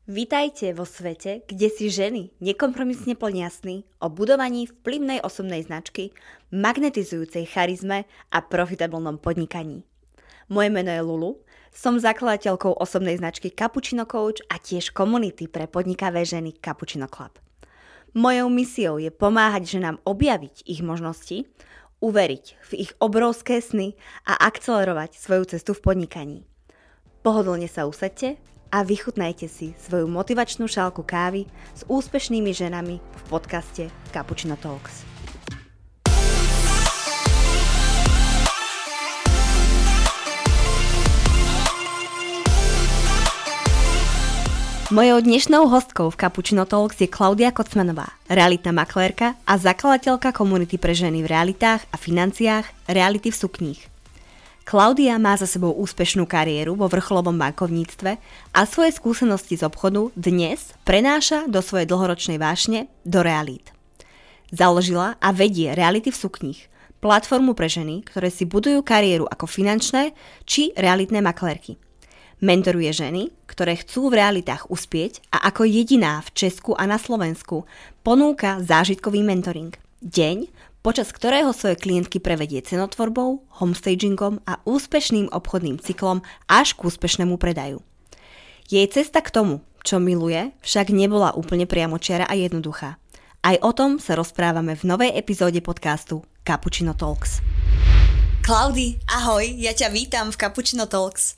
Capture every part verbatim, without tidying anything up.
Vítajte vo svete, kde si ženy nekompromisne plnia sny o budovaní vplyvnej osobnej značky, magnetizujúcej charizme a profitabilnom podnikaní. Moje meno je Lulu, som zakladateľkou osobnej značky Cappuccino Coach a tiež komunity pre podnikavé ženy Cappuccino Club. Mojou misiou je pomáhať ženám objaviť ich možnosti, uveriť v ich obrovské sny a akcelerovať svoju cestu v podnikaní. Pohodlne sa usaďte a vychutnajte si svoju motivačnú šálku kávy s úspešnými ženami v podcaste Cappuccino Talks. Mojou dnešnou hostkou v Cappuccino Talks je Klaudia Kocmanová, realitná maklérka a zakladateľka komunity pre ženy v realitách a financiách Reality v sukních. Klaudia má za sebou úspešnú kariéru vo vrcholovom bankovníctve a svoje skúsenosti z obchodu dnes prenáša do svojej dlhoročnej vášne do realít. Založila a vedie Reality v sukních, platformu pre ženy, ktoré si budujú kariéru ako finančné či realitné maklérky. Mentoruje ženy, ktoré chcú v realitách uspieť a ako jediná v Česku a na Slovensku ponúka zážitkový mentoring. Deň, počas ktorého svoje klientky prevedie cenotvorbou, homestagingom a úspešným obchodným cyklom až k úspešnému predaju. Jej cesta k tomu, čo miluje, však nebola úplne priamočiara a jednoduchá. Aj o tom sa rozprávame v novej epizóde podcastu Cappuccino Talks. Klaudi, ahoj, ja ťa vítam v Cappuccino Talks.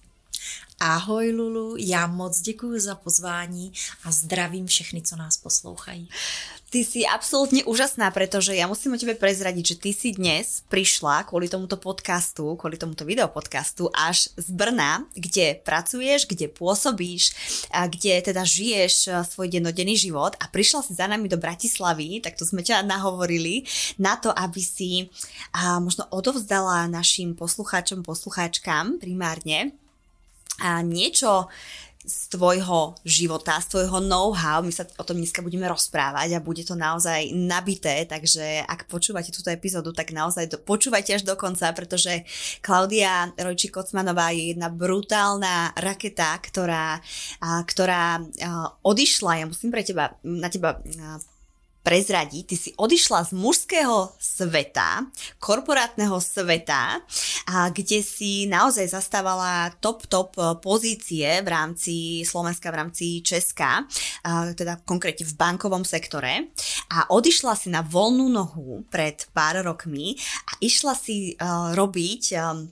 Ahoj Lulu, já moc děkuji za pozvání a zdravím všechny, co nás poslouchají. Ty si absolútne úžasná, pretože ja musím o tebe prezradiť, že ty si dnes prišla kvôli tomuto podcastu, kvôli tomuto videopodcastu až z Brna, kde pracuješ, kde pôsobíš, a kde teda žiješ svoj dennodenný život a prišla si za nami do Bratislavy, tak to sme ťa nahovorili, na to, aby si a možno odovzdala našim poslucháčom, poslucháčkam primárne a niečo z tvojho života, z tvojho know-how. My sa o tom dneska budeme rozprávať a bude to naozaj nabité, takže ak počúvate túto epizódu, tak naozaj do, počúvajte až do konca, pretože Klaudia Rojčík-Kocmanová je jedna brutálna raketa, ktorá, a, ktorá a, odišla, ja musím pre teba, na teba a, prezradiť, ty si odišla z mužského sveta, korporátneho sveta, a kde si naozaj zastávala top, top pozície v rámci Slovenska, v rámci Česka, a teda konkrétne v bankovom sektore a odišla si na voľnú nohu pred pár rokmi a išla si uh, robiť um,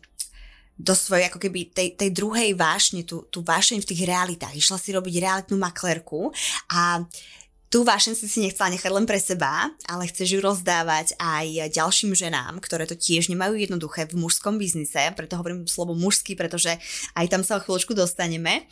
do svojej ako keby tej, tej druhej vášne, tú, tú vášeň v tých realitách. Išla si robiť realitnú maklérku a tú vášeň si si nechcela nechať len pre seba, ale chceš ju rozdávať aj ďalším ženám, ktoré to tiež nemajú jednoduché v mužskom biznise, preto hovorím slovo mužský, pretože aj tam sa o chvíľočku dostaneme.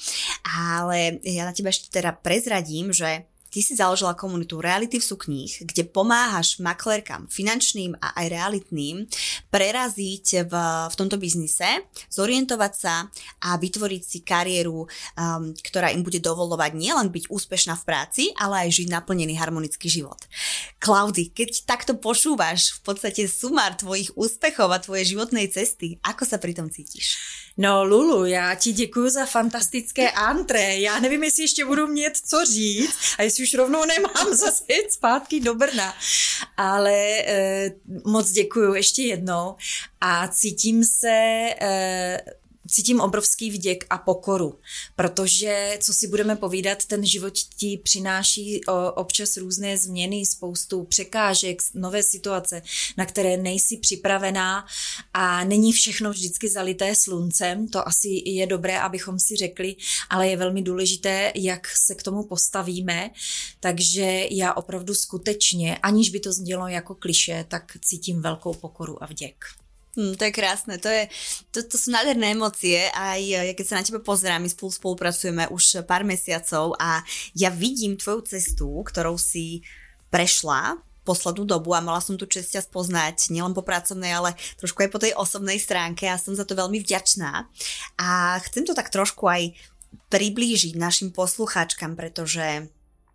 Ale ja na teba ešte teda prezradím, že ty si založila komunitu Reality v sukních, kde pomáhaš maklérkam finančným a aj realitným preraziť v, v tomto biznise, zorientovať sa a vytvoriť si kariéru, um, ktorá im bude dovoľovať nielen byť úspešná v práci, ale aj žiť naplnený harmonický život. Klaudi, keď takto počúvaš v podstate sumár tvojich úspechov a tvojej životnej cesty, ako sa pri tom cítiš? No Lulu, já ti děkuju za fantastické antré. Já nevím, jestli ještě budu mít co říct a jestli už rovnou nemám zase jít zpátky do Brna. Ale eh, moc děkuju ještě jednou a cítím se... Eh, Cítím obrovský vděk a pokoru, protože, co si budeme povídat, ten život ti přináší občas různé změny, spoustu překážek, nové situace, na které nejsi připravená a není všechno vždycky zalité sluncem, to asi je dobré, abychom si řekli, ale je velmi důležité, jak se k tomu postavíme, takže já opravdu skutečně, aniž by to znělo jako klišé, tak cítím velkou pokoru a vděk. Hmm, to je krásne, to, je, to, to sú nádherné emócie, aj ja keď sa na teba pozerám, my spolu spolupracujeme už pár mesiacov a ja vidím tvoju cestu, ktorou si prešla poslednú dobu a mala som tu česť ťa spoznať nielen po pracovnej, ale trošku aj po tej osobnej stránke a som za to veľmi vďačná a chcem to tak trošku aj priblížiť našim poslucháčkam, pretože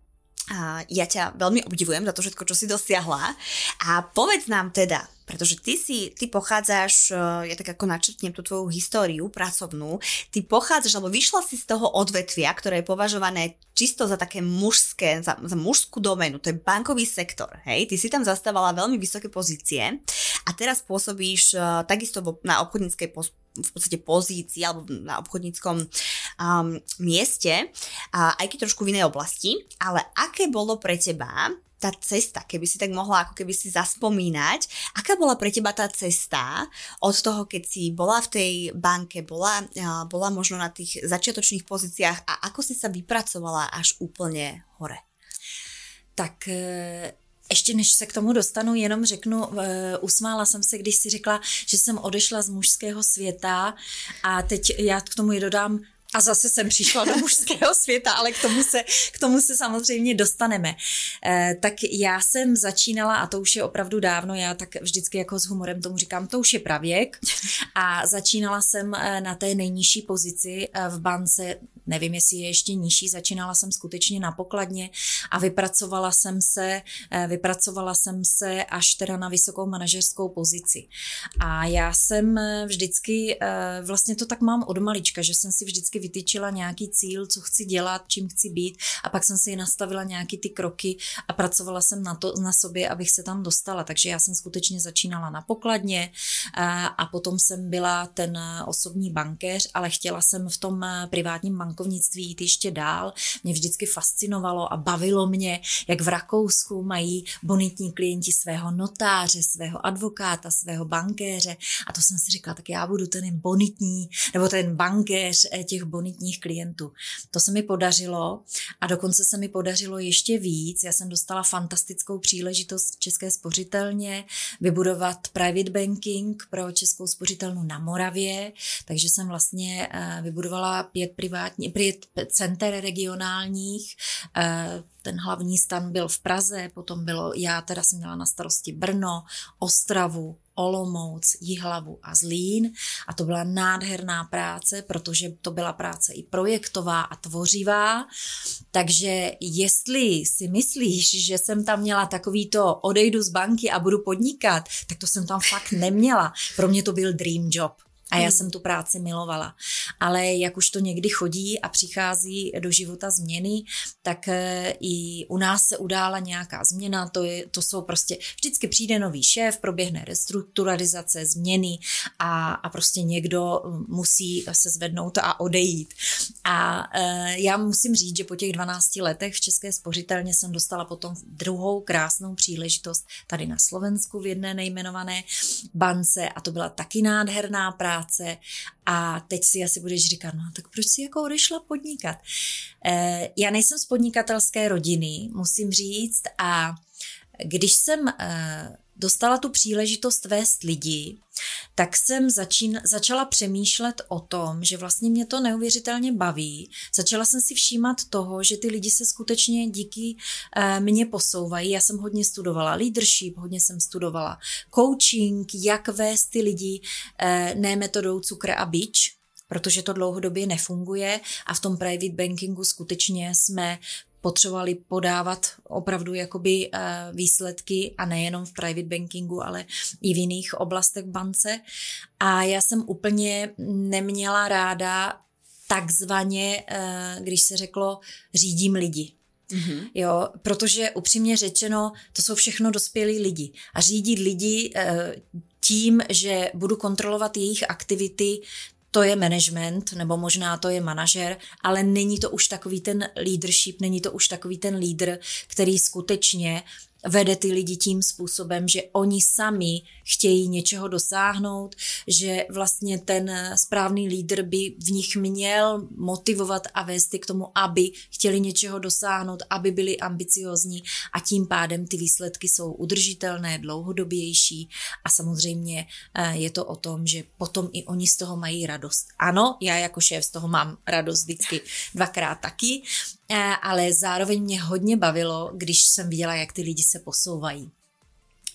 A ja ťa veľmi obdivujem za to všetko, čo si dosiahla. A povedz nám teda, pretože ty si, ty pochádzaš, ja tak ako načrtnem tú tvoju históriu pracovnú, ty pochádzaš, alebo vyšla si z toho odvetvia, ktoré je považované čisto za také mužské, za, za mužskú doménu, to je bankový sektor, hej? Ty si tam zastávala veľmi vysoké pozície a teraz pôsobíš uh, takisto na obchodníckej pos- v podstate pozícii alebo na obchodníckom um, mieste, a aj keď trošku v inej oblasti, ale aké bolo pre teba tá cesta, keby si tak mohla ako keby si zaspomínať, aká bola pre teba tá cesta od toho, keď si bola v tej banke, bola, uh, bola možno na tých začiatočných pozíciách a ako si sa vypracovala až úplne hore? Tak... E- Ještě než se k tomu dostanu, jenom řeknu, uh, usmála jsem se, když si řekla, že jsem odešla z mužského světa a teď já k tomu i dodám, a zase jsem přišla do mužského světa, ale k tomu se, k tomu se samozřejmě dostaneme. E, tak já jsem začínala, a to už je opravdu dávno, já tak vždycky jako s humorem tomu říkám, to už je pravěk, a začínala jsem na té nejnižší pozici v bance, nevím, jestli je ještě nižší, začínala jsem skutečně na pokladně a vypracovala jsem se, vypracovala jsem se až teda na vysokou manažerskou pozici. A já jsem vždycky, vlastně to tak mám od malička, že jsem si vždycky vytyčila nějaký cíl, co chci dělat, čím chci být, a pak jsem si nastavila nějaký ty kroky a pracovala jsem na to, na sobě, abych se tam dostala. Takže já jsem skutečně začínala na pokladně a, a potom jsem byla ten osobní bankéř, ale chtěla jsem v tom privátním bankovnictví jít ještě dál. Mě vždycky fascinovalo a bavilo mě, jak v Rakousku mají bonitní klienti svého notáře, svého advokáta, svého bankéře, a to jsem si říkala, tak já budu ten bonitní, nebo ten bankéř těch bonitních klientů. To se mi podařilo a dokonce se mi podařilo ještě víc. Já jsem dostala fantastickou příležitost v České spořitelně vybudovat private banking pro Českou spořitelnu na Moravě, takže jsem vlastně vybudovala pět privátní, pět center regionálních. Ten hlavní stan byl v Praze, potom bylo, já teda jsem měla na starosti Brno, Ostravu, Olomouc, Jihlavu a Zlín, a to byla nádherná práce, protože to byla práce i projektová a tvořivá, takže jestli si myslíš, že jsem tam měla takový to odejdu z banky a budu podnikat, tak to jsem tam fakt neměla. Pro mě to byl dream job. A já jsem tu práci milovala. Ale jak už to někdy chodí a přichází do života změny, tak i u nás se udála nějaká změna. To, je, to jsou prostě, vždycky přijde nový šéf, proběhne restrukturalizace, změny a, a prostě někdo musí se zvednout a odejít. A e, já musím říct, že po těch dvanácti letech v České spořitelně jsem dostala potom druhou krásnou příležitost tady na Slovensku v jedné nejmenované bance, a to byla taky nádherná práce. A teď si asi budeš říkat, no tak proč si jako odešla podnikat? E, já nejsem z podnikatelské rodiny, musím říct, a když jsem e, dostala tu příležitost vést lidi, tak jsem začín, začala přemýšlet o tom, že vlastně mě to neuvěřitelně baví. Začala jsem si všímat toho, že ty lidi se skutečně díky e, mně posouvají. Já jsem hodně studovala leadership, hodně jsem studovala coaching, jak vést ty lidi, e, ne metodou cukr a bič, protože to dlouhodobě nefunguje, a v tom private bankingu skutečně jsme potřebovali podávat opravdu jakoby výsledky, a nejenom v private bankingu, ale i v jiných oblastech v bance. A já jsem úplně neměla ráda takzvaně, když se řeklo, řídím lidi. Mm-hmm. Jo, protože upřímně řečeno, to jsou všechno dospělí lidi. A řídit lidi tím, že budu kontrolovat jejich aktivity, to je management, nebo možná to je manažer, ale není to už takový ten leadership, není to už takový ten lídr, který skutečně vede ty lidi tím způsobem, že oni sami chtějí něčeho dosáhnout, že vlastně ten správný lídr by v nich měl motivovat a vést k tomu, aby chtěli něčeho dosáhnout, aby byli ambiciozní, a tím pádem ty výsledky jsou udržitelné, dlouhodobější, a samozřejmě je to o tom, že potom i oni z toho mají radost. Ano, já jako šéf z toho mám radost vždycky dvakrát taky, ale zároveň mě hodně bavilo, když jsem viděla, jak ty lidi se posouvají.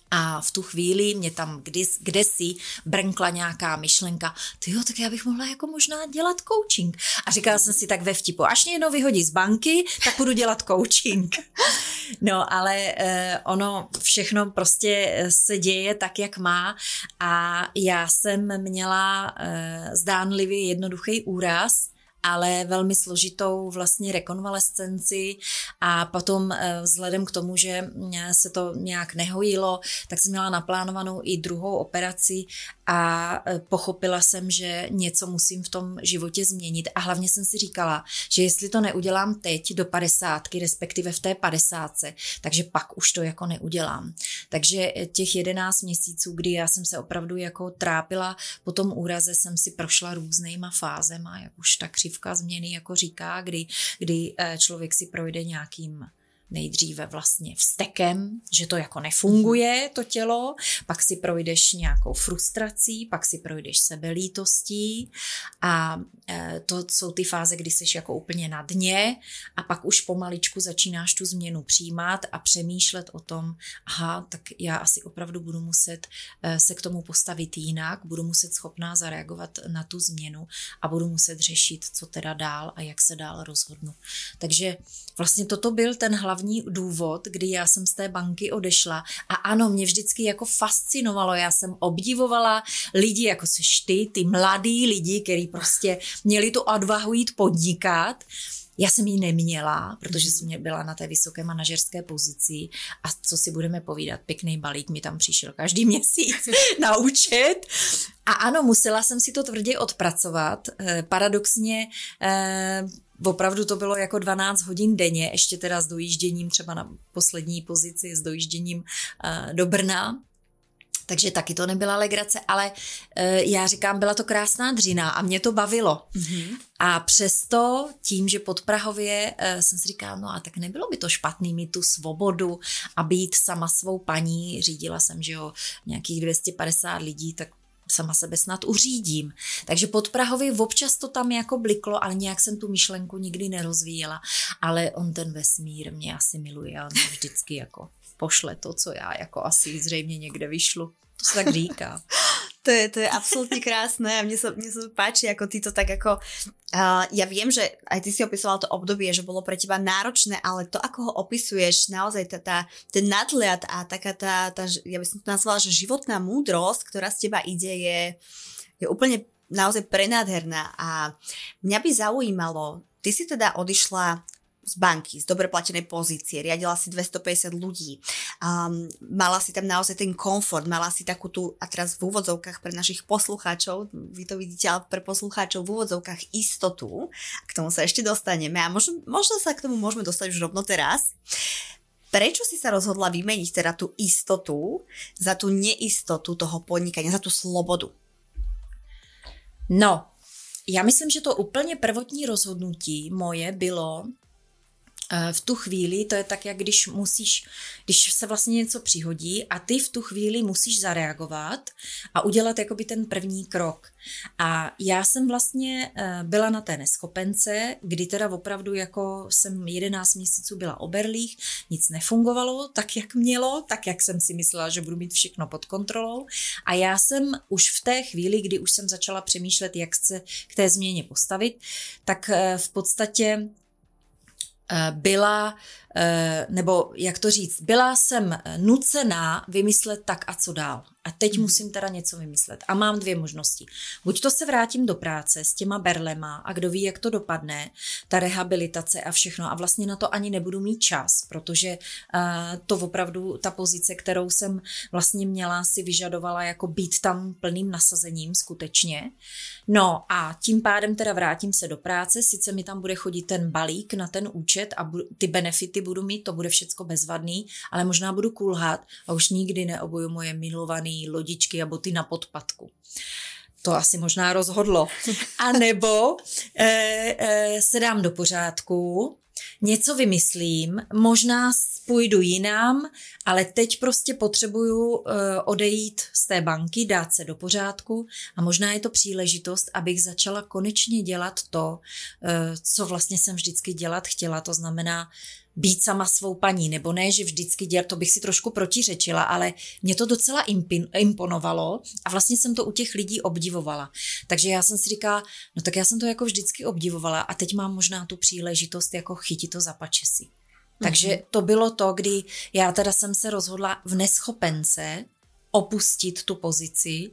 A v tu chvíli mě tam kdy, kdesi brnkla nějaká myšlenka, tyjo, tak já bych mohla jako možná dělat coaching. A říkala jsem si tak ve vtipu, až mě jednou vyhodí z banky, tak budu dělat coaching. No, ale eh, ono všechno prostě se děje tak, jak má a já jsem měla eh, zdánlivě jednoduchý úraz, ale velmi složitou vlastně rekonvalescenci a potom vzhledem k tomu, že se to nějak nehojilo, tak jsem měla naplánovanou i druhou operaci a pochopila jsem, že něco musím v tom životě změnit a hlavně jsem si říkala, že jestli to neudělám teď do padesátky, respektive v té padesátce, takže pak už to jako neudělám. Takže těch jedenáct měsíců, kdy já jsem se opravdu jako trápila po tom úraze, jsem si prošla různýma fázema, jak už ta křivka změny jako říká, kdy, kdy člověk si projde nějakým nejdříve vlastně vztekem, že to jako nefunguje, to tělo, pak si projdeš nějakou frustrací, pak si projdeš sebelítostí a to jsou ty fáze, kdy jsi jako úplně na dně a pak už pomaličku začínáš tu změnu přijímat a přemýšlet o tom, aha, tak já asi opravdu budu muset se k tomu postavit jinak, budu muset schopná zareagovat na tu změnu a budu muset řešit, co teda dál a jak se dál rozhodnu. Takže vlastně toto byl ten hlavní důvod, kdy já jsem z té banky odešla a ano, mě vždycky jako fascinovalo, já jsem obdivovala lidi, jako seš ty, ty mladý lidi, kteří prostě měli tu odvahu jít podnikat. Já jsem ji neměla, protože jsem byla na té vysoké manažerské pozici a co si budeme povídat, pěkný balík mi tam přišel každý měsíc na účet. A ano, musela jsem si to tvrdě odpracovat. Paradoxně opravdu to bylo jako dvanáct hodin denně, ještě teda s dojížděním třeba na poslední pozici, s dojížděním do Brna. Takže taky to nebyla legrace, ale e, já říkám, byla to krásná dřina a mě to bavilo. Mm-hmm. A přesto tím, že pod Prahově e, jsem si říkala, no a tak nebylo by to špatný mít tu svobodu a být sama svou paní. Řídila jsem, že jo, nějakých dvě stě padesát lidí, tak sama sebe snad uřídím. Takže pod Prahově občas to tam jako bliklo, ale nějak jsem tu myšlenku nikdy nerozvíjela. Ale on ten vesmír mě asi miluje a on mě vždycky jako pošle to, co já jako asi zřejmě někde vyšlu. To se tak říká. To je, to je absolútne krásne a mne sa, mne sa páči, ako ty to tak ako... Uh, ja viem, že aj ty si opisovala to obdobie, že bolo pre teba náročné, ale to, ako ho opisuješ, naozaj tá, tá, ten nadhľad a taká tá, tá, ja by som to nazvala, že životná múdrosť, ktorá z teba ide, je, je úplne naozaj prenádherná a mňa by zaujímalo, ty si teda odišla z banky, z dobre platenej pozície, riadila si dvestopäťdesiat ľudí, um, mala si tam naozaj ten komfort, mala si takú tú, a teraz v úvodzovkách pre našich poslucháčov, vy to vidíte, ale pre poslucháčov v úvodzovkách istotu, k tomu sa ešte dostaneme a možno, možno sa k tomu môžeme dostať už rovno teraz. Prečo si sa rozhodla vymeniť teda tú istotu za tú neistotu toho podnikania, za tú slobodu? No, já myslím, že to úplně prvotní rozhodnutí moje bylo v tu chvíli, to je tak, jak když musíš, když se vlastně něco přihodí a ty v tu chvíli musíš zareagovat a udělat jakoby ten první krok. A já jsem vlastně byla na té neschopence, kdy teda opravdu jako jsem jedenáct měsíců byla oberlých, nic nefungovalo tak, jak mělo, tak, jak jsem si myslela, že budu mít všechno pod kontrolou. A já jsem už v té chvíli, kdy už jsem začala přemýšlet, jak se k té změně postavit, tak v podstatě byla, nebo jak to říct, byla jsem nucená vymyslet tak a co dál. A teď hmm. musím teda něco vymyslet. A mám dvě možnosti. Buď to se vrátím do práce s těma berlema a kdo ví, jak to dopadne, ta rehabilitace a všechno. A vlastně na to ani nebudu mít čas, protože uh, to opravdu, ta pozice, kterou jsem vlastně měla, si vyžadovala jako být tam plným nasazením skutečně. No a tím pádem teda vrátím se do práce, sice mi tam bude chodit ten balík na ten účet a bu- ty benefity budu mít, to bude všecko bezvadný, ale možná budu kulhat a už nikdy neobuju moje milované lodičky a boty na podpatku. To asi možná rozhodlo. A nebo e, e, se dám do pořádku, něco vymyslím, možná půjdu jinam, ale teď prostě potřebuju e, odejít z té banky, dát se do pořádku a možná je to příležitost, abych začala konečně dělat to, e, co vlastně jsem vždycky dělat chtěla, to znamená být sama svou paní, nebo ne, že vždycky dělat, to bych si trošku protiřečila, ale mě to docela imponovalo a vlastně jsem to u těch lidí obdivovala. Takže já jsem si říkala, no tak já jsem to jako vždycky obdivovala a teď mám možná tu příležitost jako chytit to za pačesy. Takže mm-hmm. to bylo to, kdy já teda jsem se rozhodla v neschopence opustit tu pozici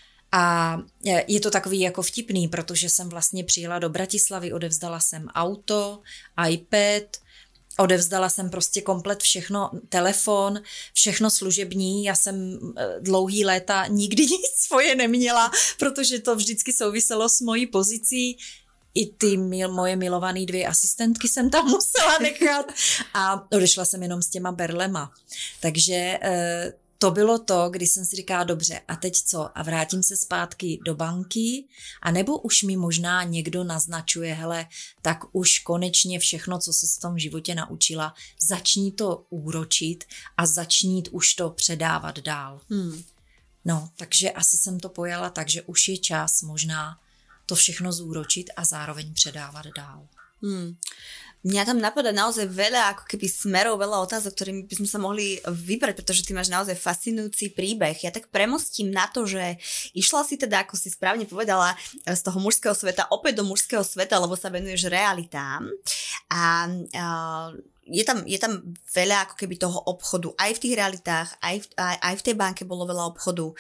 a je to takový jako vtipný, protože jsem vlastně přijela do Bratislavy, odevzdala jsem auto, iPad, odevzdala jsem prostě komplet všechno, telefon, všechno služební. Já jsem dlouhý léta nikdy nic svoje neměla, protože to vždycky souviselo s mojí pozicí. I ty mil, moje milované dvě asistentky jsem tam musela nechat a odešla jsem jenom s těma berlema. Takže e, to bylo to, kdy jsem si říkala, dobře, a teď co? A vrátím se zpátky do banky, anebo už mi možná někdo naznačuje, hele, tak už konečně všechno, co se v tom životě naučila, začni to úročit a začni už to předávat dál. Hmm. No, takže asi jsem to pojala tak, že už je čas možná to všechno zúročiť a zároveň předávat dál. Hmm. Mňa tam napadá naozaj veľa ako keby smerov, veľa otázok, ktorými by sme sa mohli vybrať, pretože ty máš naozaj fascinujúci príbeh. Ja tak premostím na to, že išla si teda, ako si správne povedala, z toho mužského sveta opäť do mužského sveta, lebo sa venuješ realitám a, a je tam, je tam veľa ako keby toho obchodu aj v tých realitách, aj v, aj, aj v tej banke bolo veľa obchodu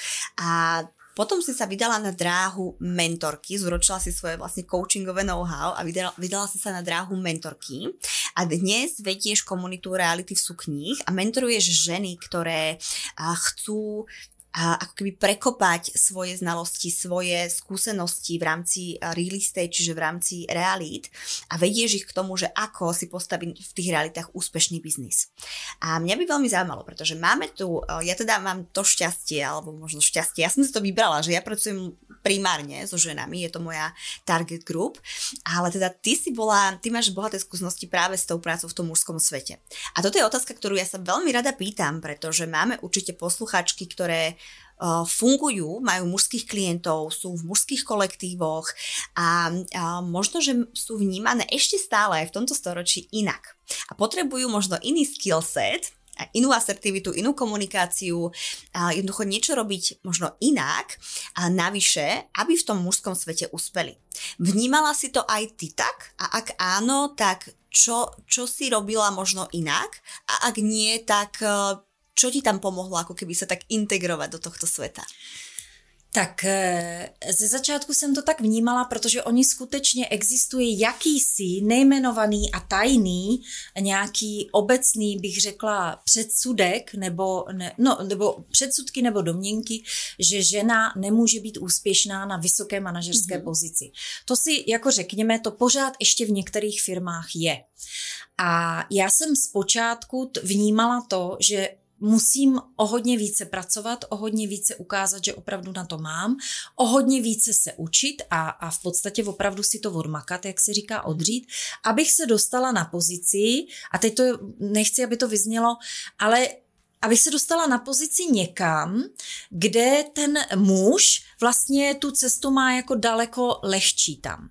a potom si sa vydala na dráhu mentorky, zúročila si svoje vlastne coachingové know-how a vydala, vydala si sa na dráhu mentorky a dnes vedieš komunitu Reality v sukních a mentoruješ ženy, ktoré chcú a ako keby prekopať svoje znalosti, svoje skúsenosti v rámci real estate, čiže v rámci realít a vedieš ich k tomu, že ako si postaviť v tých realitách úspešný biznis. A mňa by veľmi zaujímalo, pretože máme tu, ja teda mám to šťastie, alebo možno šťastie, ja som si to vybrala, že ja pracujem primárne so ženami, je to moja target group, ale teda ty si bola, ty máš bohaté skúsenosti práve s tou prácou v tom mužskom svete. A toto je otázka, ktorú ja sa veľmi rada pýtam, pretože máme určite poslucháčky, ktoré uh, fungujú, majú mužských klientov, sú v mužských kolektívoch a, a možno, že sú vnímané ešte stále aj v tomto storočí inak. A potrebujú možno iný skill set, inú asertivitu, inú komunikáciu, a jednoducho niečo robiť možno inak a navyše, aby v tom mužskom svete uspeli. Vnímala si to aj ty tak? A ak áno, tak čo, čo si robila možno inak? A ak nie, tak čo ti tam pomohlo ako keby sa tak integrovať do tohto sveta? Tak ze začátku jsem to tak vnímala, protože oni skutečně existuje jakýsi nejmenovaný a tajný, nějaký obecný, bych řekla, předsudek, nebo, ne, no, nebo předsudky nebo domněnky, že žena nemůže být úspěšná na vysoké manažerské mm-hmm. pozici. To si, jako řekněme, to pořád ještě v některých firmách je. A já jsem zpočátku vnímala to, že musím o hodně více pracovat, o hodně více ukázat, že opravdu na to mám, o hodně více se učit a, a v podstatě opravdu si to odmakat, jak se říká, odřít, abych se dostala na pozici, a teď to nechci, aby to vyznělo, ale abych se dostala na pozici někam, kde ten muž vlastně tu cestu má jako daleko lehčí tam.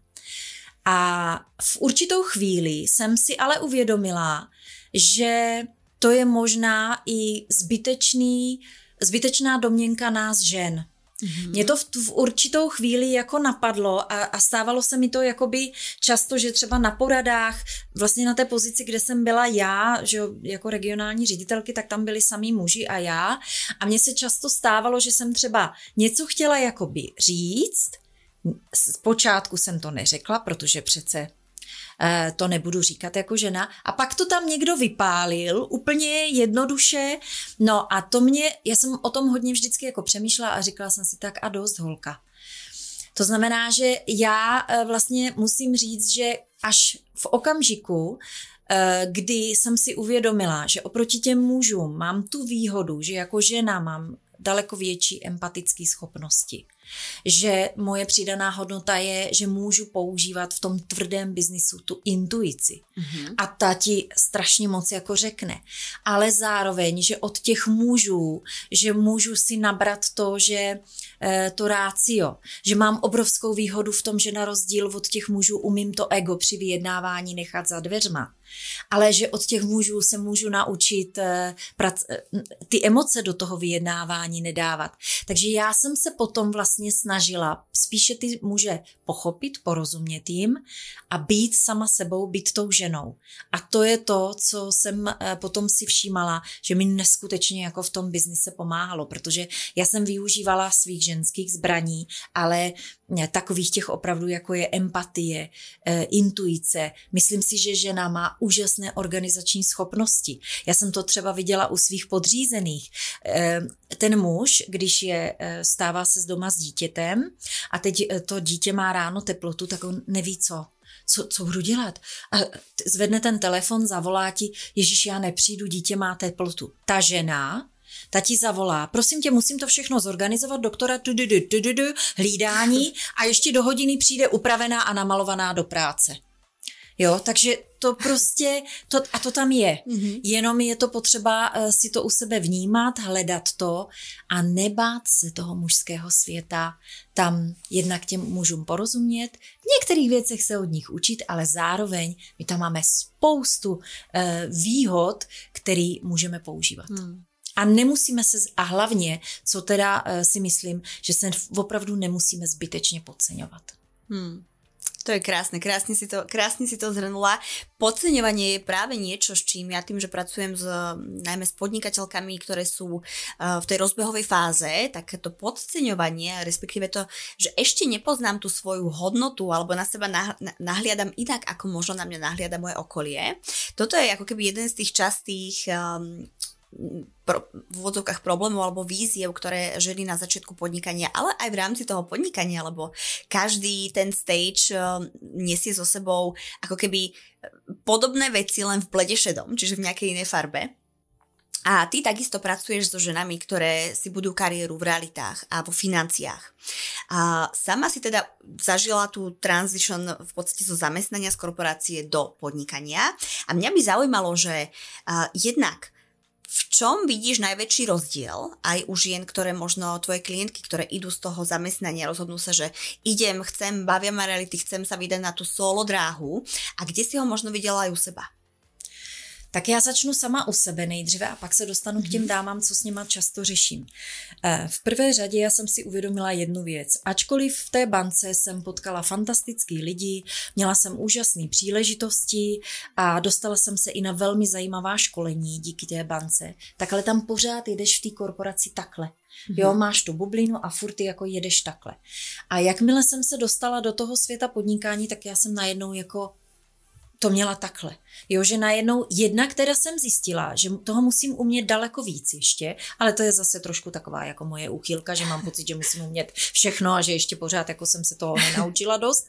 A v určitou chvíli jsem si ale uvědomila, že to je možná i zbytečný, zbytečná domněnka nás žen. Mm-hmm. Mě to v, v určitou chvíli jako napadlo a, a stávalo se mi to jakoby často, že třeba na poradách, vlastně na té pozici, kde jsem byla já, že jako regionální ředitelky, tak tam byli samý muži a já. A mně se často stávalo, že jsem třeba něco chtěla jakoby říct. Zpočátku jsem to neřekla, protože přece to nebudu říkat jako žena. A pak to tam někdo vypálil úplně jednoduše. No a to mě, já jsem o tom hodně vždycky jako přemýšlela a říkala jsem si tak a dost, holka. To znamená, že já vlastně musím říct, že až v okamžiku, kdy jsem si uvědomila, že oproti těm mužům mám tu výhodu, že jako žena mám daleko větší empatické schopnosti. Že moje přidaná hodnota je, že můžu používat v tom tvrdém biznisu tu intuici. Mm-hmm. A ta ti strašně moc jako řekne. Ale zároveň, že od těch mužů, že můžu si nabrat to, že e, to rácio, že mám obrovskou výhodu v tom, že na rozdíl od těch mužů umím to ego při vyjednávání nechat za dveřma. Ale že od těch mužů se můžu naučit prac, ty emoce do toho vyjednávání nedávat. Takže já jsem se potom vlastně snažila spíše ty muže pochopit, porozumět jim a být sama sebou, být tou ženou. A to je to, co jsem potom si všímala, že mi neskutečně jako v tom biznise pomáhalo, protože já jsem využívala svých ženských zbraní, ale takových těch opravdu, jako je empatie, intuice. Myslím si, že žena má úžasné organizační schopnosti. Já jsem to třeba viděla u svých podřízených. Ten muž, když je, stává se z doma s dítětem a teď to dítě má ráno teplotu, tak on neví co. Co, co budu dělat? A zvedne ten telefon, zavolá ti, Ježíš, já nepřijdu, dítě má teplotu. Ta žena, ta ti zavolá, prosím tě, musím to všechno zorganizovat, doktora, tududu, tududu, hlídání a ještě do hodiny přijde upravená a namalovaná do práce. Jo, takže to prostě, to, a to tam je. Mm-hmm. Jenom je to potřeba uh, si to u sebe vnímat, hledat to a nebát se toho mužského světa, tam jednak těm mužům porozumět, v některých věcech se od nich učit, ale zároveň my tam máme spoustu uh, výhod, které můžeme používat. Mm. A nemusíme se, a hlavně, co teda uh, si myslím, že se opravdu nemusíme zbytečně podceňovat. Hmm. To je krásne, krásne si to, krásne si to zhrnula. Podceňovanie je práve niečo, s čím ja tým, že pracujem s, najmä s podnikateľkami, ktoré sú uh, v tej rozbehovej fáze, tak to podceňovanie, respektíve to, že ešte nepoznám tú svoju hodnotu alebo na seba nah, nahliadam inak, ako možno na mňa nahliada moje okolie. Toto je ako keby jeden z tých častých um, Pro, v úvodzovkách problémov alebo víziev, ktoré ženy na začiatku podnikania, ale aj v rámci toho podnikania, lebo každý ten stage uh, nesie so sebou ako keby podobné veci len v blede šedom, čiže v nejakej inej farbe. A ty takisto pracuješ so ženami, ktoré si budú kariéru v realitách a vo financiách. A sama si teda zažila tú transition v podstate zo zamestnania z korporácie do podnikania. A mňa by zaujímalo, že uh, jednak v čom vidíš najväčší rozdiel aj u žien, ktoré možno tvoje klientky, ktoré idú z toho zamestnania, rozhodnú sa, že idem, chcem, bavia ma reality, chcem sa vydať na tú solo dráhu a kde si ho možno videla aj u seba? Tak já začnu sama u sebe nejdříve a pak se dostanu k těm dámám, co s nima často řeším. V prvé řadě já jsem si uvědomila jednu věc. Ačkoliv v té bance jsem potkala fantastický lidi, měla jsem úžasné příležitosti a dostala jsem se i na velmi zajímavá školení díky té bance, tak ale tam pořád jedeš v té korporaci takhle. Jo, máš tu bublinu a furt jako jedeš takhle. A jakmile jsem se dostala do toho světa podnikání, tak já jsem najednou jako to měla takhle. Jo, že najednou jednak teda jsem zjistila, že toho musím umět daleko víc ještě, ale to je zase trošku taková jako moje úchylka, že mám pocit, že musím umět všechno a že ještě pořád jako jsem se toho nenaučila dost.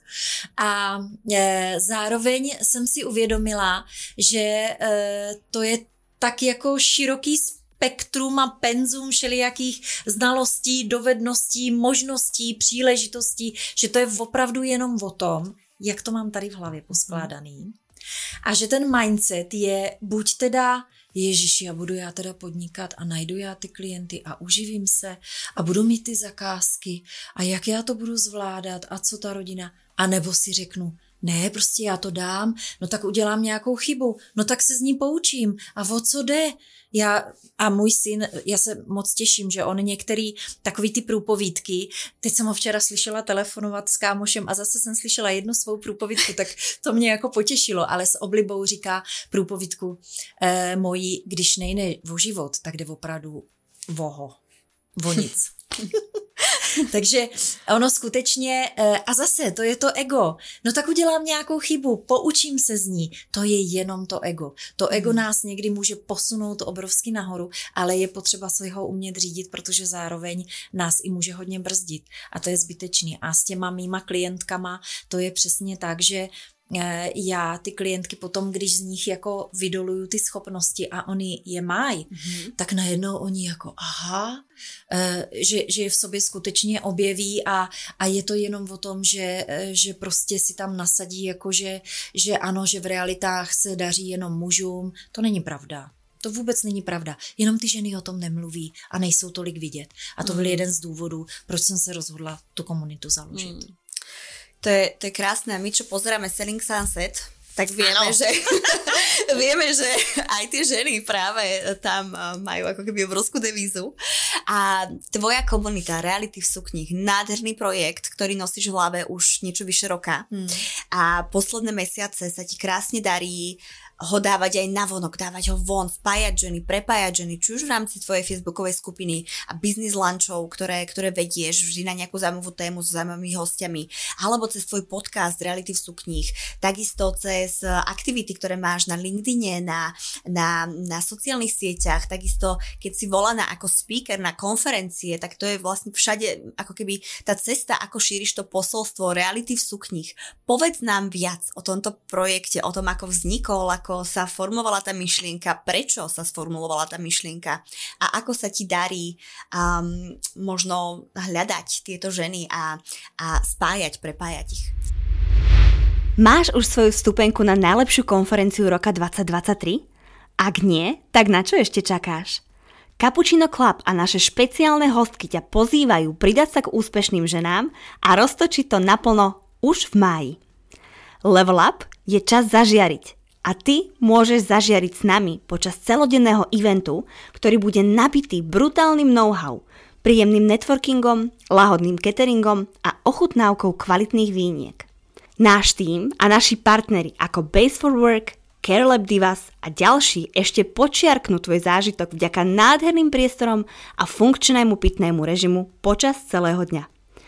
A e, zároveň jsem si uvědomila, že e, to je tak jako široký spektrum a penzum všelijakých znalostí, dovedností, možností, příležitostí, že to je opravdu jenom o tom, jak to mám tady v hlavě poskládaný. A že ten mindset je buď teda, ježiši, já budu já teda podnikat a najdu já ty klienty a uživím se a budu mít ty zakázky a jak já to budu zvládat a co ta rodina. A nebo si řeknu, ne, prostě já to dám, no tak udělám nějakou chybu, no tak se z ní poučím a o co jde? Já a můj syn, já se moc těším, že on některý takový ty průpovídky, teď jsem ho včera slyšela telefonovat s kámošem a zase jsem slyšela jednu svou průpovídku, tak to mě jako potěšilo, ale s oblibou říká průpovídku eh, mojí, když nejde o život, tak jde opravdu voho, o nic. Takže ono skutečně, a zase to je to ego, no tak udělám nějakou chybu, poučím se z ní, to je jenom to ego. To ego nás někdy může posunout obrovsky nahoru, ale je potřeba si ho umět řídit, protože zároveň nás i může hodně brzdit a to je zbytečný. A s těma mýma klientkama to je přesně tak, že já ty klientky potom, když z nich jako vydoluju ty schopnosti a oni je mají, mm-hmm. tak najednou oni jako aha, že, že je v sobě skutečně objeví a, a je to jenom o tom, že, že prostě si tam nasadí jako, že, že ano, že v realitách se daří jenom mužům. To není pravda. To vůbec není pravda. Jenom ty ženy o tom nemluví a nejsou tolik vidět. A to byl mm. jeden z důvodů, proč jsem se rozhodla tu komunitu založit. Mm. To je, to je krásne. My, čo pozeráme Selling Sunset, tak vieme, že, vieme, že aj tie ženy práve tam majú ako keby obrovskú devízu. A tvoja komunita Reality v sukních, nádherný projekt, ktorý nosíš v hlave už niečo vyše roka. Hmm. A posledné mesiace sa ti krásne darí ho dávať aj navonok, dávať ho von, spájať ženy, prepájať ženy, či už v rámci tvojej facebookovej skupiny a business lunchov, ktoré, ktoré vedieš vždy na nejakú zaujímavú tému s zaujímavými hostiami, alebo cez tvoj podcast Reality v sukních, takisto cez aktivity, ktoré máš na LinkedIne, na, na, na sociálnych sieťach, takisto keď si volaná ako speaker na konferencie, tak to je vlastne všade ako keby tá cesta, ako šíriš to posolstvo Reality v sukních. Povedz nám viac o tomto projekte, o tom, ako vznikol, ako ako sa formovala tá myšlienka, prečo sa sformulovala tá myšlienka a ako sa ti darí um, možno hľadať tieto ženy a, a spájať, prepájať ich. Máš už svoju vstupenku na najlepšiu konferenciu roka dvadsať dvadsaťtri? Ak nie, tak na čo ešte čakáš? Cappuccino Club a naše špeciálne hostky ťa pozývajú pridať sa k úspešným ženám a roztočiť to naplno už v máji. Level Up je čas zažiariť. A ty môžeš zažiariť s nami počas celodenného eventu, ktorý bude nabitý brutálnym know-how, príjemným networkingom, lahodným cateringom a ochutnávkou kvalitných víniek. Náš tím a naši partneri ako Base for Work, Care Lab Divas a ďalší ešte počiarknú tvoj zážitok vďaka nádherným priestorom a funkčnému pitnému režimu počas celého dňa.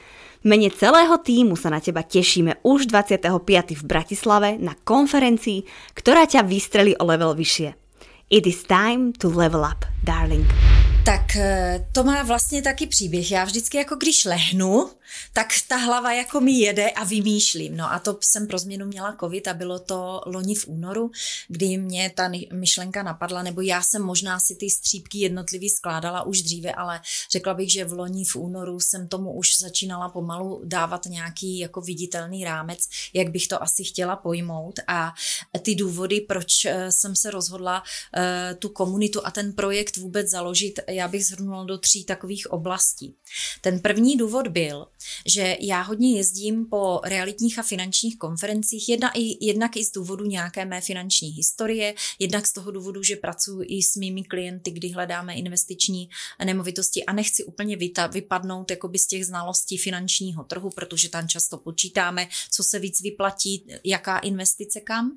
V mene celého tímu sa na teba tešíme už dvadsiateho piateho v Bratislave na konferencii, ktorá ťa vystrelí o level vyššie. It is time to level up, darling. Tak to má vlastně taky příběh. Já vždycky jako když lehnu, tak ta hlava jako mi jede a vymýšlím. No a to jsem pro změnu měla covid a bylo to loni v únoru, kdy mě ta myšlenka napadla, nebo já jsem možná si ty střípky jednotlivý skládala už dříve, ale řekla bych, že v loni v únoru jsem tomu už začínala pomalu dávat nějaký jako viditelný rámec, jak bych to asi chtěla pojmout a ty důvody, proč jsem se rozhodla uh, tu komunitu a ten projekt vůbec založit, já bych shrnula do tří takových oblastí. Ten první důvod byl, že já hodně jezdím po realitních a finančních konferencích, jedna i, jednak i z důvodu nějaké mé finanční historie, jednak z toho důvodu, že pracuji i s mými klienty, kdy hledáme investiční nemovitosti a nechci úplně vyta, vypadnout jakoby z těch znalostí finančního trhu, protože tam často počítáme, co se víc vyplatí, jaká investice kam.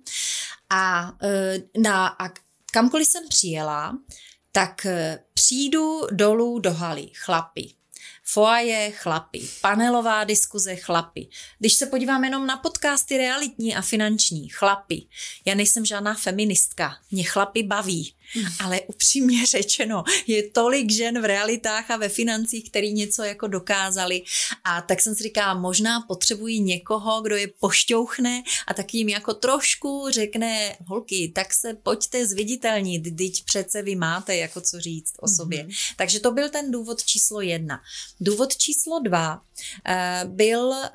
A, na, a kamkoliv jsem přijela, tak přijdu dolů do haly, chlapi. Foaje, chlapi. Panelová diskuze, chlapi. Když se podívám jenom na podcasty realitní a finanční, chlapi. Já nejsem žádná feministka, mě chlapi baví. Ale upřímně řečeno, je tolik žen v realitách a ve financích, který něco jako dokázali. A tak jsem si říkala, možná potřebují někoho, kdo je pošťouchne a tak jim jako trošku řekne, holky, tak se pojďte zviditelnit, teď přece vy máte jako co říct o sobě. Mm-hmm. Takže to byl ten důvod číslo jedna. Důvod číslo dva uh, byl uh,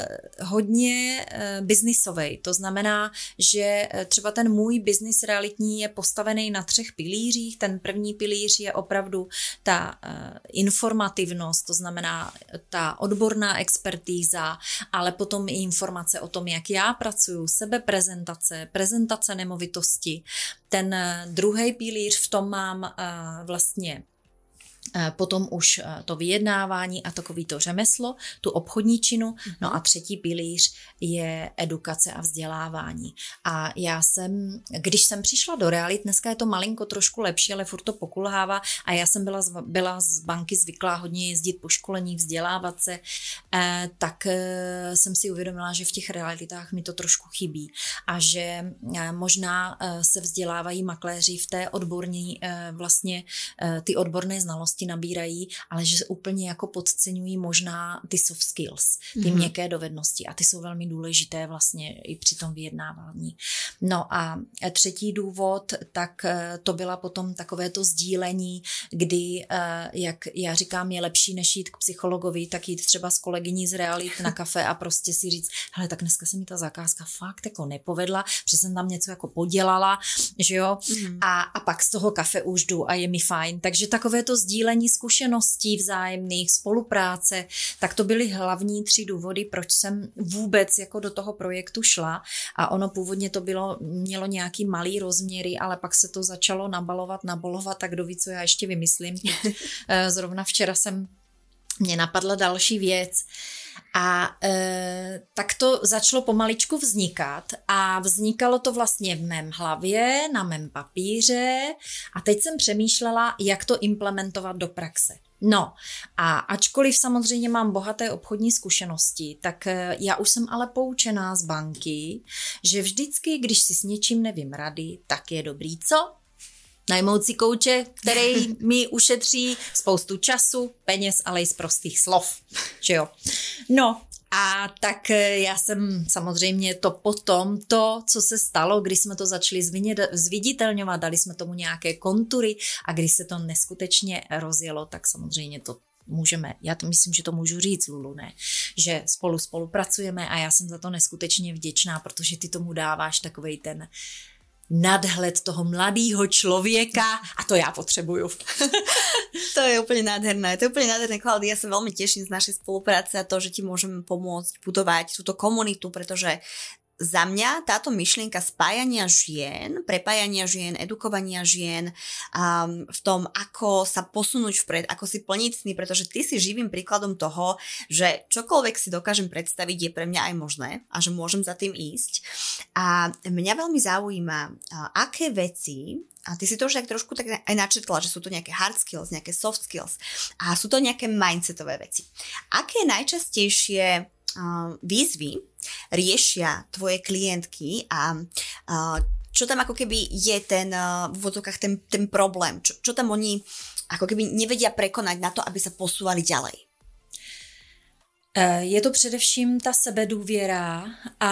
hodně uh, biznisový. To znamená, že třeba ten můj biznis realitní je postavený na třech pilířích. Ten první pilíř je opravdu ta uh, informativnost, to znamená ta odborná expertíza, ale potom i informace o tom, jak já pracuju, sebeprezentace, prezentace nemovitosti. Ten uh, druhý pilíř, v tom mám uh, vlastně potom už to vyjednávání a takový to řemeslo, tu obchodní činu. No a třetí pilíř je edukace a vzdělávání. A já jsem, když jsem přišla do realit, dneska je to malinko trošku lepší, ale furt to pokulhává a já jsem byla z, byla z banky zvyklá hodně jezdit po školení, vzdělávat se, eh, tak eh, jsem si uvědomila, že v těch realitách mi to trošku chybí a že eh, možná eh, se vzdělávají makléři v té odborní, eh, vlastně eh, ty odborné znalosti nabírají, ale že úplně jako podceňují možná ty soft skills, ty mm-hmm. měkké dovednosti a ty jsou velmi důležité vlastně i při tom vyjednávání. No a třetí důvod, tak to byla potom takové to sdílení, kdy, jak já říkám, je lepší než jít k psychologovi, tak jít třeba s kolegyní z realit na kafe a prostě si říct, hele, tak dneska se mi ta zakázka fakt jako nepovedla, protože jsem tam něco jako podělala, že jo, mm-hmm. a, a pak z toho kafe už jdu a je mi fajn. Takže takové to sdílení sdílení zkušeností vzájemných, spolupráce, tak to byly hlavní tři důvody, proč jsem vůbec jako do toho projektu šla. A ono původně to bylo, mělo nějaký malý rozměry, ale pak se to začalo nabalovat, nabolovat, tak kdo ví, co já ještě vymyslím. Zrovna včera jsem, mě napadla další věc. A e, tak to začalo pomaličku vznikat a vznikalo to vlastně v mém hlavě, na mém papíře a teď jsem přemýšlela, jak to implementovat do praxe. No a ačkoliv samozřejmě mám bohaté obchodní zkušenosti, tak já už jsem ale poučená z banky, že vždycky, když si s něčím nevím rady, tak je dobrý co? Najmout si kouče, který mi ušetří spoustu času, peněz, ale i z prostých slov. Že jo? No a tak já jsem samozřejmě to potom, to, co se stalo, když jsme to začali zviditelňovat, dali jsme tomu nějaké kontury a když se to neskutečně rozjelo, tak samozřejmě to můžeme, já to myslím, že to můžu říct, Lulu, ne? Že spolu spolupracujeme a já jsem za to neskutečně vděčná, protože ty tomu dáváš takovej ten nadhled toho mladého člověka a to já potřebuju. To je úplne nádherné. To je úplne nádherné, Klaudia. Ja sa veľmi teším z našej spolupráce a to, že ti môžeme pomôcť budovať túto komunitu, pretože za mňa táto myšlienka spájania žien, prepájania žien, edukovania žien um, v tom, ako sa posunúť vpred, ako si plniť sny, pretože ty si živým príkladom toho, že čokoľvek si dokážem predstaviť, je pre mňa aj možné a že môžem za tým ísť. A mňa veľmi zaujíma, uh, aké veci, a ty si to už tak trošku tak aj načetla, že sú to nejaké hard skills, nejaké soft skills a sú to nejaké mindsetové veci. Aké najčastejšie uh, výzvy riešia tvoje klientky a uh, čo tam ako keby je ten uh, v úvodzovkách ten, ten problém, čo, čo tam oni ako keby nevedia prekonať na to, aby sa posúvali ďalej? Je to především ta sebedůvěra a